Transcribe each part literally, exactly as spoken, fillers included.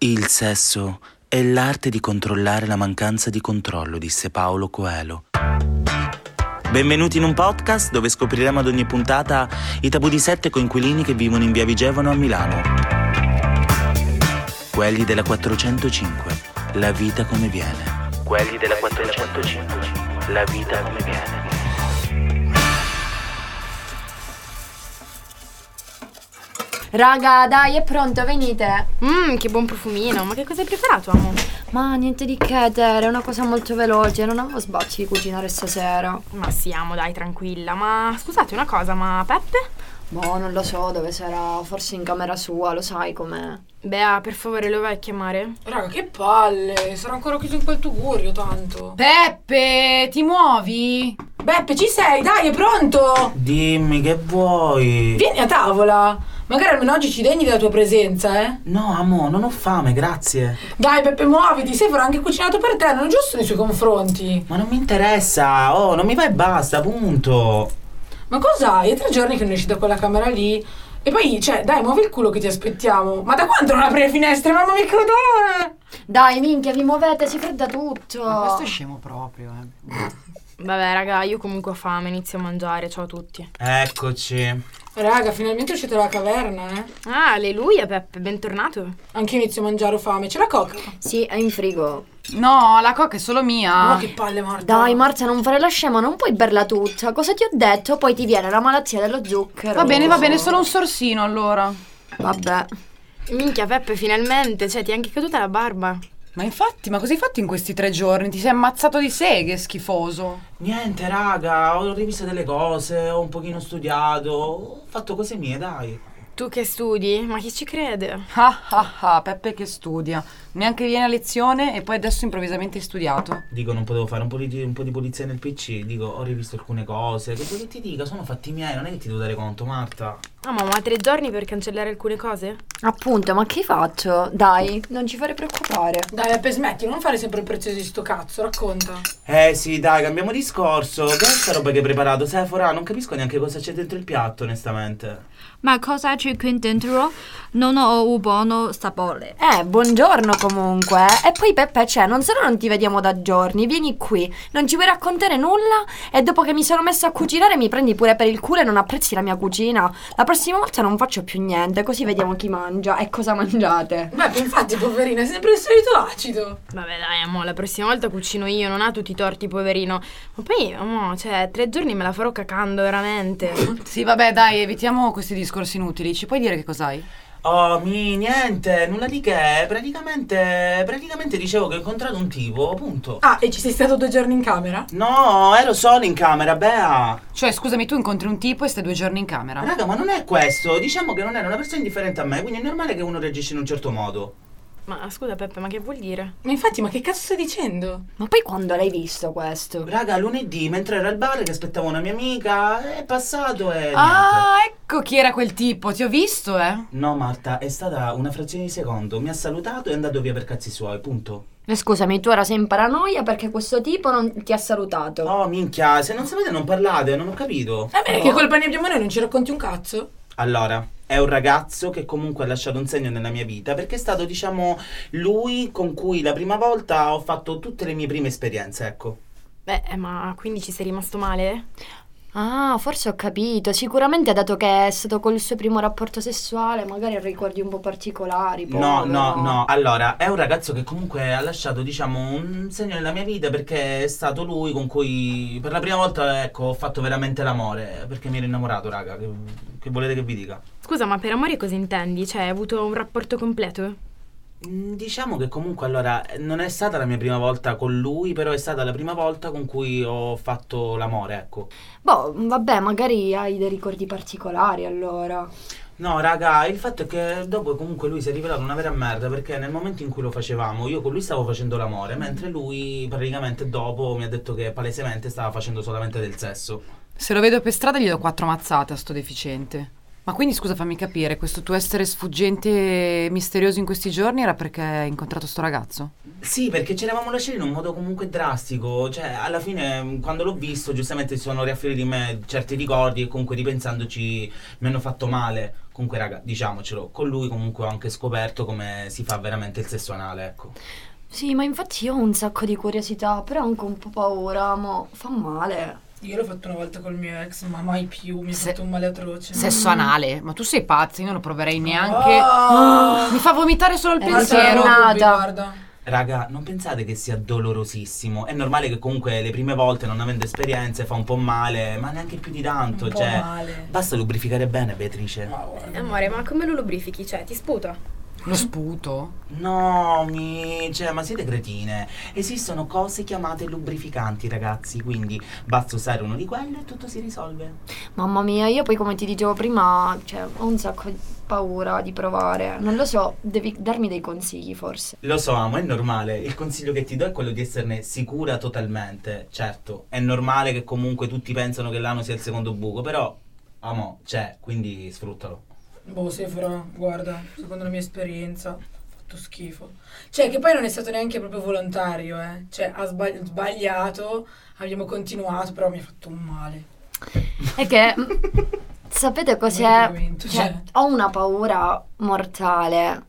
Il sesso è l'arte di controllare la mancanza di controllo, disse Paulo Coelho. Benvenuti in un podcast dove scopriremo ad ogni puntata i tabù di sette coinquilini che vivono in via Vigevano a Milano. Quelli della quattrocentocinque, la vita come viene. Quelli della quattrocentocinque, la vita come viene. Raga, dai, è pronto, venite. Mmm, che buon profumino. Ma che cosa hai preparato, amo? Ma niente di che, Tere, è una cosa molto veloce. Non avevo sbatti di cucinare stasera. Ma sì, amo, dai, tranquilla. Ma scusate una cosa, ma Peppe? Boh, non lo so dove sarà. Forse in camera sua, lo sai com'è. Bea, per favore, lo vai a chiamare? Raga, che palle. Sarà ancora chiuso in quel tugurio, tanto. Peppe, ti muovi? Beppe, ci sei? Dai, è pronto. Dimmi, che vuoi? Vieni a tavola. Magari almeno oggi ci degni della tua presenza, eh? No, amo, non ho fame, grazie. Dai, Peppe, muoviti. Sei avrà anche cucinato per te, non è giusto nei suoi confronti. Ma non mi interessa. Oh, non mi va e basta, punto. Ma cos'hai? È tre giorni che non esci da quella camera lì. E poi, cioè, dai, muovi il culo che ti aspettiamo. Ma da quanto non apri le finestre? Mamma mia, che odore! Dai, minchia, vi muovete, si fredda tutto. Ma questo è scemo proprio, eh. Vabbè, raga, io comunque ho fame, inizio a mangiare. Ciao a tutti. Eccoci. Raga, finalmente uscite dalla caverna, eh? Ah, alleluia, Peppe, bentornato. Anche io inizio a mangiare, ho fame. C'è la coca? Sì, è in frigo. No, la coca è solo mia. Oh, che palle, Marta. Dai, Marta, non fare la scema, non puoi berla tutta. Cosa ti ho detto? Poi ti viene la malattia dello zucchero. Va bene, va bene, solo un sorsino allora. Vabbè. Minchia, Peppe, finalmente, cioè, ti è anche caduta la barba. Ma infatti, ma cosa hai fatto in questi tre giorni? Ti sei ammazzato di seghe, schifoso. Niente, raga, ho rivisto delle cose, ho un pochino studiato, ho fatto cose mie, dai. Tu che studi? Ma chi ci crede? Ah ah ah, Peppe che studia. Neanche viene a lezione e poi adesso improvvisamente hai studiato. Dico, non potevo fare un po' di, un po' di pulizia nel P C, dico, ho rivisto alcune cose. Che vuoi che ti dica? Sono fatti miei, non è che ti devo dare conto, Marta. Ah, ma, ma tre giorni per cancellare alcune cose? Appunto, ma che faccio? Dai, non ci fare preoccupare. Dai, Beppe, smetti, non fare sempre il prezioso di sto cazzo, racconta. Eh sì, dai, cambiamo discorso. Che è sta roba che hai preparato, Sephora? Non capisco neanche cosa c'è dentro il piatto, onestamente. Ma cosa c'è qui dentro? Non ho un buono sapore. Eh, buongiorno comunque. E poi Peppe, c'è, non solo non ti vediamo da giorni, vieni qui, non ci vuoi raccontare nulla e dopo che mi sono messa a cucinare mi prendi pure per il culo e non apprezzi la mia cucina. La prossima volta non faccio più niente, così vediamo chi mangia e cosa mangiate. Beppe, infatti, poverina, è sempre il solito acido. Vabbè, dai, amo, la prossima volta cucino io, non ha tutti i torti, poverino. Ma poi, amo, cioè, tre giorni me la farò cacando, veramente. Sì, vabbè, dai, evitiamo questi discorsi inutili. Ci puoi dire che cos'hai? Oh, mi niente, nulla di che. Praticamente, praticamente dicevo che ho incontrato un tipo, punto. Ah, e ci sei stato due giorni in camera? No, ero solo in camera, Bea. Cioè, scusami, tu incontri un tipo e stai due giorni in camera? Raga, ma non è questo. Diciamo che non era una persona indifferente a me, quindi è normale che uno reagisce in un certo modo. Ma scusa, Peppe, ma che vuol dire? Ma infatti, ma che cazzo stai dicendo? Ma poi quando l'hai visto questo? Raga, lunedì, mentre ero al bar che aspettavo una mia amica, è passato e Ah, niente. ecco chi era quel tipo, ti ho visto, eh? No, Marta, è stata una frazione di secondo. Mi ha salutato e è andato via per cazzi suoi, punto. E scusami, tu ora sei in paranoia perché questo tipo non ti ha salutato. Oh, minchia, se non sapete non parlate, non ho capito. Va bene, che colpa ne abbiamo noi, non ci racconti un cazzo? Allora, è un ragazzo che comunque ha lasciato un segno nella mia vita perché è stato, diciamo, lui con cui la prima volta ho fatto tutte le mie prime esperienze, ecco. Beh, ma quindi ci sei rimasto male? Ah, forse ho capito. Sicuramente dato che è stato col suo primo rapporto sessuale, magari ha ricordi un po' particolari. No, povero. no, no. Allora, è un ragazzo che comunque ha lasciato, diciamo, un segno nella mia vita perché è stato lui con cui per la prima volta, ecco, ho fatto veramente l'amore. Perché mi ero innamorato, raga. Che, che volete che vi dica? Scusa, ma per amore cosa intendi? Cioè, hai avuto un rapporto completo? Mm, Diciamo che comunque, allora, non è stata la mia prima volta con lui, però è stata la prima volta con cui ho fatto l'amore, ecco. Boh, vabbè, magari hai dei ricordi particolari allora. No, raga, il fatto è che dopo comunque lui si è rivelato una vera merda perché nel momento in cui lo facevamo io con lui stavo facendo l'amore, mentre lui praticamente dopo mi ha detto che palesemente stava facendo solamente del sesso. Se lo vedo per strada gli do quattro mazzate a sto deficiente. Ma quindi scusa, fammi capire, questo tuo essere sfuggente e misterioso in questi giorni era perché hai incontrato sto ragazzo? Sì, perché ci eravamo lasciati in un modo comunque drastico. Cioè, alla fine, quando l'ho visto, giustamente si sono riaffioriti in me certi ricordi e comunque ripensandoci mi hanno fatto male. Comunque, raga, diciamocelo, con lui comunque ho anche scoperto come si fa veramente il sesso anale, ecco. Sì, ma infatti io ho un sacco di curiosità, però anche un po' paura, ma fa male. Io l'ho fatto una volta col mio ex, ma mai più, mi ha Se- fatto un male atroce. Sesso anale? Ma tu sei pazza, io non lo proverei neanche. Oh! Mi fa vomitare solo il Eh, pensiero. sì, nata. Guarda. Raga, non pensate che sia dolorosissimo. È normale che comunque le prime volte, non avendo esperienze, fa un po' male, ma neanche più di tanto. Un po' Cioè, male. basta lubrificare bene, Beatrice. Ma guarda. Amore, ma come lo lubrifichi? Cioè, ti sputa? Lo sputo? No, mi... cioè, ma siete cretine. Esistono cose chiamate lubrificanti, ragazzi. Quindi basta usare uno di quelli e tutto si risolve. Mamma mia, io poi come ti dicevo prima, cioè, ho un sacco di paura di provare. Non lo so, devi darmi dei consigli forse. Lo so, amo, è normale. Il consiglio che ti do è quello di esserne sicura totalmente. Certo, è normale che comunque tutti pensano che l'ano sia il secondo buco, però, amo, c'è, quindi sfruttalo. Boh, Sephora, guarda, secondo la mia esperienza, ha fatto schifo. Cioè, che poi non è stato neanche proprio volontario, eh. Cioè, ha sbagli- sbagliato, abbiamo continuato, però mi ha fatto un male. È che sapete cos'è? Veramente, Cioè, cioè. ho una paura mortale.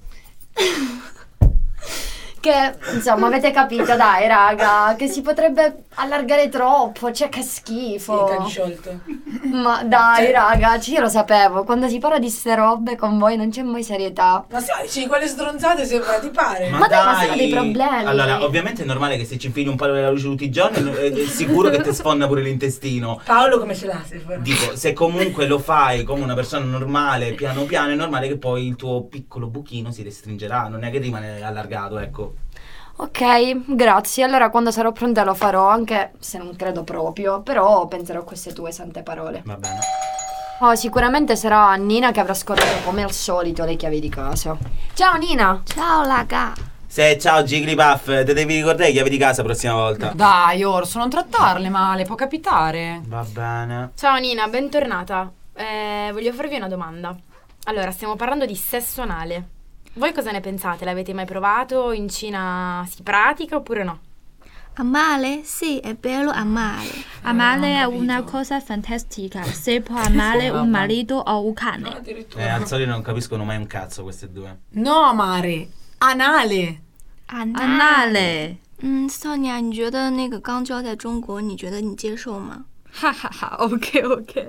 Che insomma avete capito, dai raga, che si potrebbe allargare troppo, cioè che schifo. Sì, sciolto. Ma dai raga, cioè, io lo sapevo, quando si parla di ste robe con voi non c'è mai serietà. Ma sai, dici quelle stronzate sembra, ti pare? Ma dai, ma sono dei problemi. Allora, ovviamente è normale che se ci infili un palo della luce tutti i giorni è, è sicuro che ti sfonda pure l'intestino. Paolo come ce l'ha, Sephora? Dico, se comunque lo fai come una persona normale, piano piano, è normale che poi il tuo piccolo buchino si restringerà, non è che rimane allargato, ecco. Ok, grazie. Allora quando sarò pronta lo farò, anche se non credo proprio, però penserò a queste tue sante parole. Va bene. Oh, sicuramente sarà Nina che avrà scordato come al solito le chiavi di casa. Ciao Nina! Ciao raga. Se ciao Jigglypuff, te devi ricordare le chiavi di casa la prossima volta. Dai, Orso, non trattarle male, può capitare. Va bene. Ciao Nina, bentornata. Eh, voglio farvi una domanda. Allora, stiamo parlando di sesso anale. Voi cosa ne pensate? L'avete mai provato? In Cina si pratica oppure no? Amare? Sì, è bello amare. Amare è una cosa fantastica. Si può amare un marito o un cane. Addirittura. Eh, al solito non capiscono mai un cazzo queste due. No, amare, anale. Anale. 嗯，Sonia，你觉得那个肛交在中国，你觉得你接受吗？ 哈哈哈 OK OK。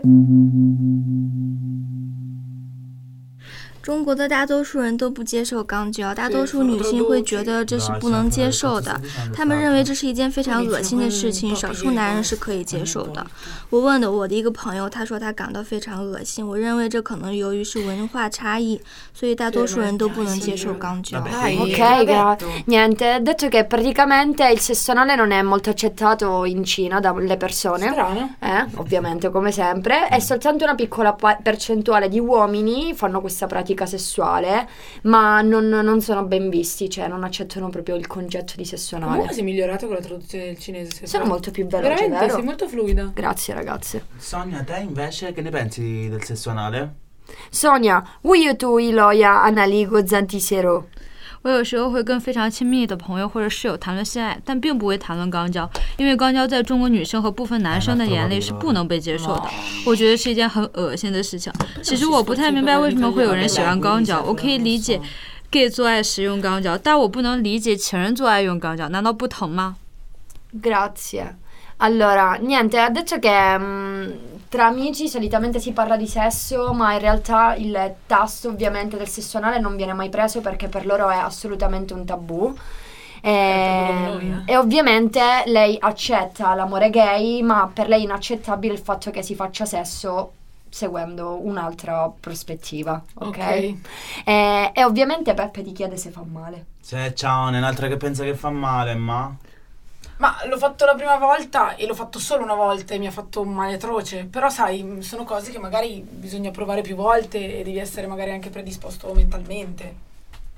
中国的大多数人都不接受肛交，大多数女性会觉得这是不能接受的，她们认为这是一件非常恶心的事情，少数男人是可以接受的。我问的我的一个朋友，他说他感到非常恶心。我认为这可能由于是文化差异，所以大多数人都不能接受肛交。 Dai, Ok, l'ho gra- detto. niente, ha detto che praticamente il sesso anale non è molto accettato in Cina dalle persone. Strano. Eh, ovviamente come sempre, e soltanto una piccola pa- percentuale di uomini fanno questa pratica sessuale, ma non, non sono ben visti, cioè non accettano proprio il concetto di sesso anale. Comunque sei migliorato con la traduzione del cinese. Sephora. Sono molto più veloce, Veramente, vero? sei molto fluida. Grazie ragazze. Sonia, te invece che ne pensi del sesso anale? Sonia, 우유 두 일어야 안알리고 잔티세로. 我有时候会跟非常亲密的朋友或者室友谈论性爱，但并不会谈论肛交，因为肛交在中国女生和部分男生的眼里是不能被接受的。我觉得是一件很恶心的事情。其实我不太明白为什么会有人喜欢肛交，我可以理解 gay 做爱时用肛交，但我不能理解情人做爱用肛交，难道不疼吗？ Grazie. Allora, niente, ha detto che mm, tra amici solitamente si parla di sesso, ma in realtà il tasto ovviamente del sesso anale non viene mai preso perché per loro è assolutamente un tabù. E, e ovviamente lei accetta l'amore gay, ma per lei è inaccettabile il fatto che si faccia sesso seguendo un'altra prospettiva, ok? Ok. E, e ovviamente Peppe ti chiede se fa male. Se ciao, un'altra che pensa che fa male, ma... Ma l'ho fatto la prima volta e l'ho fatto solo una volta e mi ha fatto un male atroce. Però sai, sono cose che magari bisogna provare più volte e devi essere magari anche predisposto mentalmente.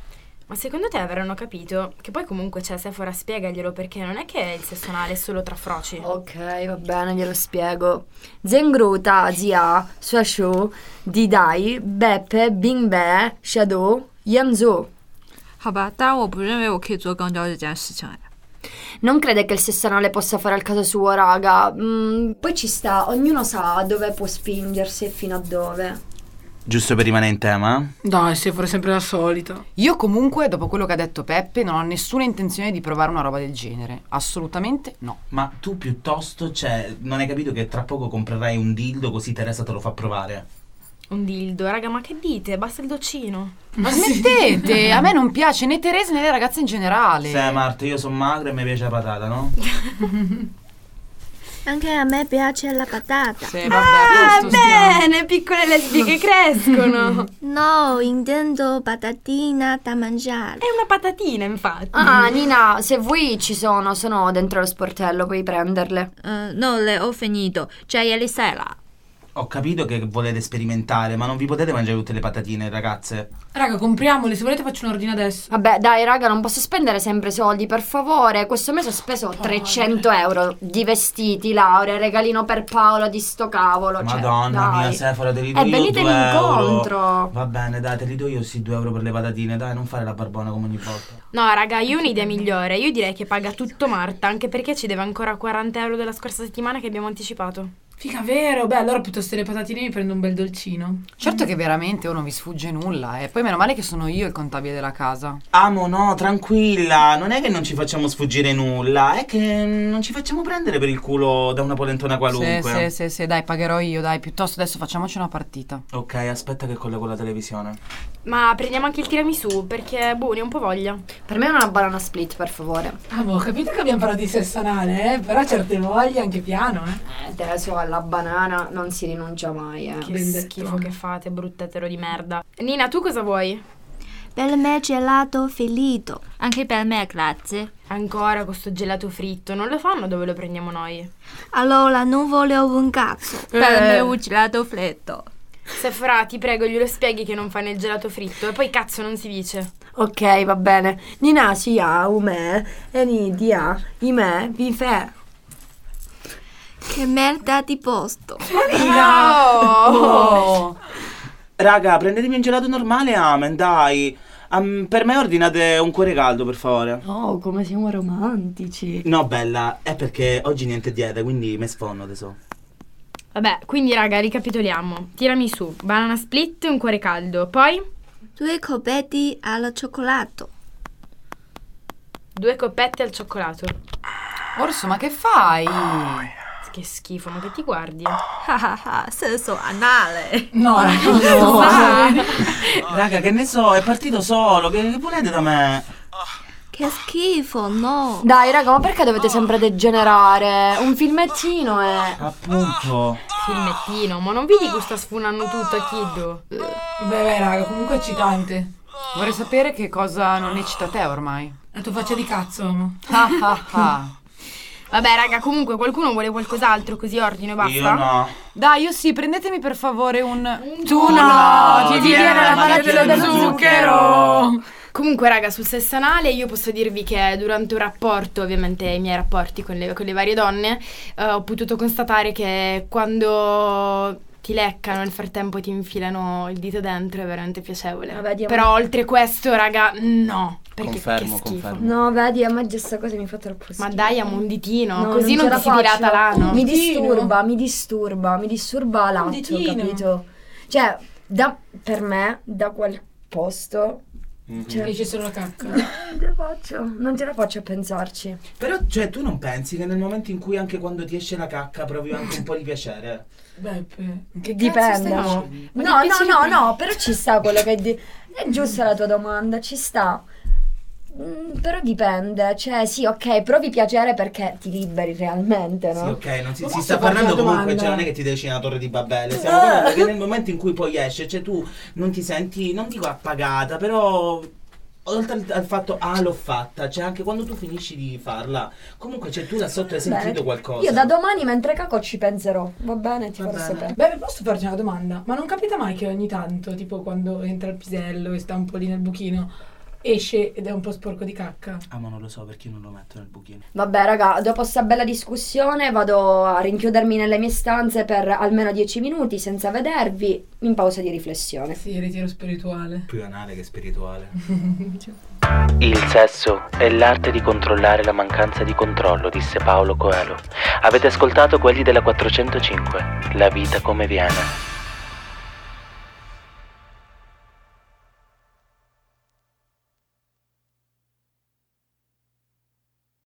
Ma secondo te avranno capito? Che poi comunque c'è Sephora, spiegaglielo, perché non è che il sesso anale è solo tra froci. Ok, va bene, glielo spiego. Zengruta, Zia, Suashu, Didai, Beppe, Bingbe, Shadow, Yamzu. 好吧，当然我不认为我可以做肛交这件事情哎。 Non crede che il sesso anale possa fare al caso suo, raga. Mm, poi ci sta, ognuno sa dove può spingersi e fino a dove. Giusto per rimanere in tema? Dai, se fare sempre la solita. Io comunque, dopo quello che ha detto Peppe, non ho nessuna intenzione di provare una roba del genere. Assolutamente no. Ma tu piuttosto, cioè, non hai capito che tra poco comprerai un dildo così Teresa te lo fa provare? Un dildo, raga, ma che dite? Basta il doccino. Ma smettete! A me non piace né Teresa né le ragazze in generale. Sì, Marta, io sono magra e mi piace la patata, no? Anche a me piace la patata. Sì, vabbè, Ah, questo stiamo. bene, piccole lesbiche crescono. No, intendo patatina da mangiare. È una patatina, infatti. Ah, Nina, se vuoi ci sono, sono dentro lo sportello, puoi prenderle. 嗯、no le ho finito, cioè ieri sera. Ho capito che volete sperimentare, ma non vi potete mangiare tutte le patatine, ragazze? Raga, compriamole, se volete faccio un ordine adesso. Vabbè, dai, raga, non posso spendere sempre soldi, per favore. Questo mese ho speso trecento euro di vestiti, Laura, regalino per Paolo di sto cavolo. Cioè, Madonna dai. mia, Sephora, te li do E io venite due incontro. euro. Va bene, dai, te li do io sì, due euro per le patatine, dai, non fare la barbona come ogni volta. No, raga, io ho un'idea migliore. Io direi che paga tutto Marta, anche perché ci deve ancora quaranta euro della scorsa settimana che abbiamo anticipato. Figa, vero? Beh, allora piuttosto le patatine mi prendo un bel dolcino. Certo che veramente oh, non vi sfugge nulla. E poi meno male che sono io il contabile della casa. Amo, no, tranquilla, non è che non ci facciamo sfuggire nulla, è che non ci facciamo prendere per il culo da una polentona qualunque. Sì, sì, sì, sì, dai, pagherò io, dai. Piuttosto adesso facciamoci una partita. Ok, aspetta che collego la televisione. Ma prendiamo anche il tiramisù, perché, boh, ne ho un po' voglia. Per me una banana split, per favore. Ah, boh, ho capito che abbiamo parlato di sesso anale, eh? Però certe voglie anche piano, eh? Eh, adesso alla banana non si rinuncia mai, eh. Che Ben detto. schifo che fate, bruttetero di merda. Nina, tu cosa vuoi? Per me gelato finito. Anche per me, grazie. Ancora questo gelato fritto, non lo fanno dove lo prendiamo noi? Allora non volevo un cazzo. Per me un gelato freddo. Sephora, ti prego, glielo spieghi che non fanno il gelato fritto e poi cazzo non si dice. Ok, va bene. Nina si ha, ume, e ni dia, ime, vi fe. Che merda di posto. Oh. Raga, prendetemi un gelato normale, amen, dai. Um, per me ordinate un cuore caldo, per favore. Oh, come siamo romantici. No, bella, è perché oggi niente dieta, quindi me sfonno, tesoro. Vabbè, quindi raga, ricapitoliamo. Tiramisù, banana split e un cuore caldo. Poi Due coppetti al cioccolato. due coppette al cioccolato. Orso, ma che fai? Che schifo, ma che ti guardi? sesso anale. No, raga, no. Raga, che ne so, è partito solo, che, che volete da me? Che schifo, no. Dai, raga, ma perché dovete sempre degenerare? Un filmettino è... Appunto. Filmettino, ma non vedi che sta sfunando tutto a Kiddo? Beh, beh, raga, comunque è eccitante. Vorrei sapere che cosa non eccita te ormai. La tua faccia di cazzo, amo. Ah ah ah. Vabbè, raga, comunque qualcuno vuole qualcos'altro così ordino e basta? Io no. Dai, io sì, prendetemi per favore un... Tu no, ti ti viene la malattia dello zucchero. Comunque, raga, sul sesso anale io posso dirvi che durante un rapporto, ovviamente i miei rapporti con le, con le varie donne, eh, ho potuto constatare che quando ti leccano nel frattempo ti infilano il dito dentro è veramente piacevole. Vabbè, Dio, Però oltre questo, raga, no. Perché Confermo, che schifo. confermo. No, vedi, a me già sta cosa mi fa troppo schifo. Ma dai, amo un ditino, No, così non, ce ti si la dilata faccio. l'ano. Mi Ditino. disturba, mi disturba, mi disturba l'atto, ditino. capito? Cioè, da, per me, da quel posto... Cioè, Dice solo la cacca. non ce la faccio, non ce la faccio a pensarci. Però, cioè, tu non pensi che nel momento in cui anche quando ti esce la cacca provi anche un po' di piacere? Beppe, che Dipende. cazzo stai No, dicendo? Ma no, che piacere no, prendi? no, però ci sta quello che di... È giusta la tua domanda, ci sta. Mm, però dipende, cioè sì, ok, provi piacere perché ti liberi realmente, no? Sì, ok, non si, Ma si posso sta farti parlando una comunque, domanda? cioè non è che ti decidi una torre di Babele, stiamo parlando che nel momento in cui poi esce, cioè tu non ti senti, non dico appagata, però oltre al, al fatto, ah l'ho fatta, cioè anche quando tu finisci di farla, comunque cioè tu da sotto hai sentito Bene. qualcosa. Io da domani mentre caco ci penserò, va bene, ti Va farò bene. sapere. Beh, posso farti una domanda? Ma non capita mai che ogni tanto, tipo quando entra il pisello e sta un po' lì nel buchino, esce ed è un po' sporco di cacca. Ah, ma non lo so perché non lo metto nel buchino. Vabbè raga, dopo sta bella discussione vado a rinchiudermi nelle mie stanze per almeno dieci minuti senza vedervi, in pausa di riflessione. Sì, ritiro spirituale. Più anale che spirituale. Il sesso è l'arte di controllare la mancanza di controllo, disse Paulo Coelho. Avete ascoltato Quelli della quattrocentocinque, la vita come viene.